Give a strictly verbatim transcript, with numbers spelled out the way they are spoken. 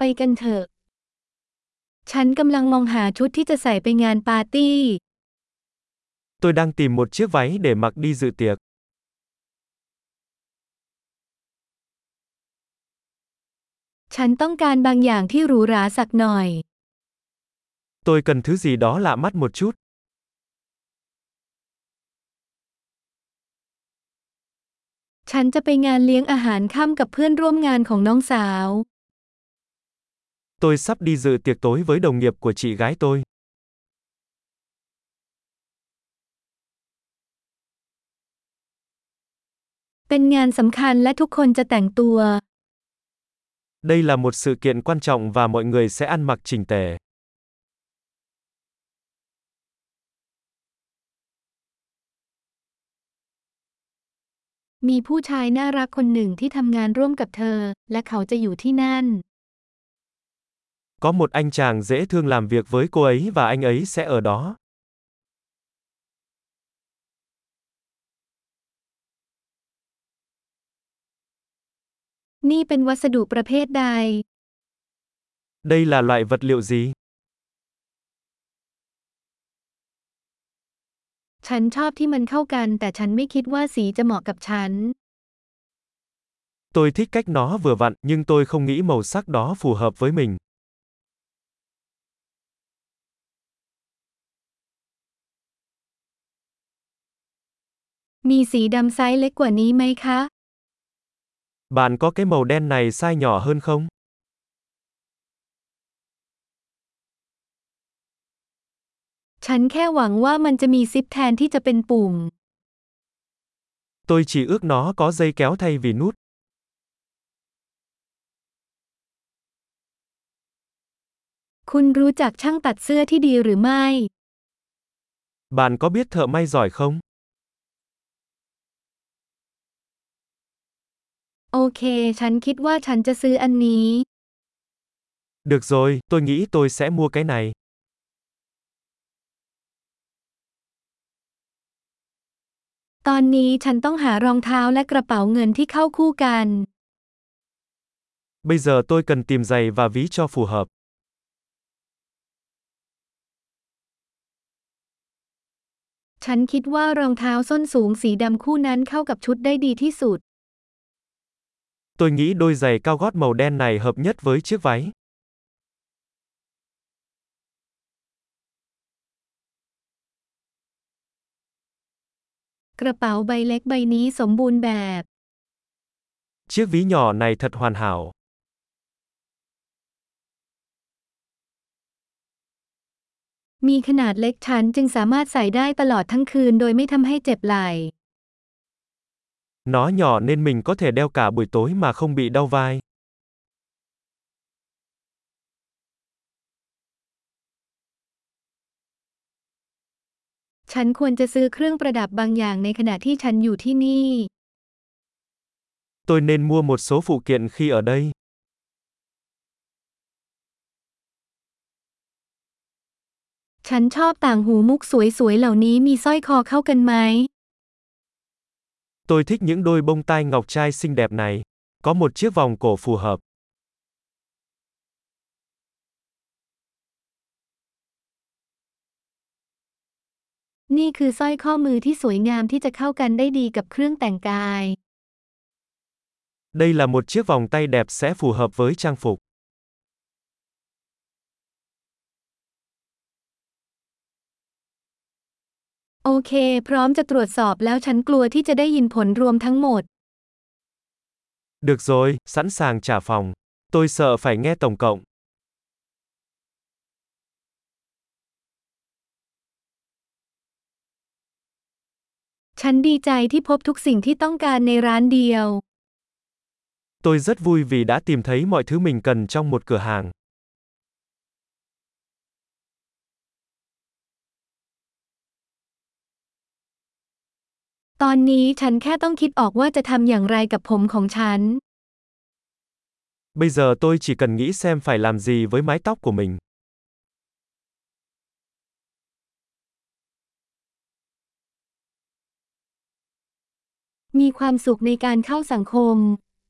กันเถอะฉันกำลังมองหาชุดที่จะใส่ไปงานปาร์ตี้ Tôi đang tìm một chiếc váy để mặc đi dự tiệc. ฉันต้องการบางอย่างที่หรูหราสักหน่อย Tôi cần thứ gì đó lạ mắt một chút. ฉันจะไปงานเลี้ยงอาหารค่ำกับเพื่อนร่วมงานของน้องสาว Tôi sắp đi dự tiệc tối với đồng nghiệp của chị gái tôi. เป็นงานสำคัญและทุกคนจะแต่งตัว Đây là một sự kiện quan trọng và mọi người sẽ ăn mặc chỉnh tề. มีผู้ชายน่ารักคนหนึ่งที่ทำงานร่วมกับเธอและเขาจะอยู่ที่นั่น Có một anh chàng dễ thương làm việc với cô ấy và anh ấy sẽ ở đó. นี่เป็นวัสดุประเภทใด Đây là loại vật liệu gì? ฉันชอบที่มันเข้ากันแต่ฉันไม่คิดว่าสีจะเหมาะกับฉัน Tôi thích cách nó vừa vặn, nhưng tôi không nghĩ màu sắc đó phù hợp với mình. มีสีดำไซส์เล็กกว่านี้ไหมคะ Bạn có cái màu đen này size nhỏ hơn không? ฉันแค่หวังว่ามันจะมีซิปแทนที่จะเป็นปุ่ม Tôi chỉ ước nó có dây kéo thay vì nút. คุณรู้จักช่างตัดเสื้อที่ดีหรือไม่ Bạn có biết thợ may giỏi không? โอเคฉันคิดว่าฉันจะซื้ออันนี้ Được rồi, tôi nghĩ tôi sẽ mua cái này. ตอนนี้ฉันต้องหารองเท้าและกระเป๋าเงินที่เข้าคู่กัน Bây giờ tôi cần tìm giày và ví cho phù hợp. ฉันคิดว่ารองเท้าส้นสูงสีดำคู่นั้นเข้ากับชุดได้ดีที่สุด Tôi nghĩ đôi giày cao gót màu đen này hợp nhất với chiếc váy. กระเป๋าใบเล็กใบนี้สมบูรณ์แบบ Chiếc ví nhỏ này thật hoàn hảo. มีขนาดเล็กฉันจึงสามารถใส่ได้ตลอดทั้งคืนโดยไม่ทำให้เจ็บไหล่ Nó nhỏ nên mình có thể đeo cả buổi tối mà không bị đau vai. ฉันควรจะซื้อเครื่องประดับบางอย่างในขณะที่ฉันอยู่ที่นี่ Tôi nên mua một số phụ kiện khi ở đây. ฉันชอบต่างหูมุกสวยๆเหล่านี้มีสร้อยคอเข้ากันไหม Tôi thích những đôi bông tai ngọc trai xinh đẹp này. Có một chiếc vòng cổ phù hợp. นี่คือสร้อยข้อมือที่สวยงามที่จะเข้ากันได้ดีกับเครื่องแต่งกาย Đây là một chiếc vòng tay đẹp sẽ phù hợp với trang phục. โอเคพร้อมจะตรวจสอบแล้วฉันกลัวที่จะได้ยินผลรวมทั้งหมด Được rồi, sẵn sàng trả phòng. Tôi sợ phải nghe tổng cộng. ฉันดีใจที่พบทุกสิ่งที่ต้องการในร้านเดียว Tôi rất vui vì đã tìm thấy mọi thứ mình cần trong một cửa hàng. ตอนนี้ฉันแค่ต้องคิดออกว่าจะทำอย่างไรกับผมของฉัน Bây giờ tôi chỉ cần nghĩ xem phải làm gì với mái tóc của mình. มีความสุขในการเข้าสังคม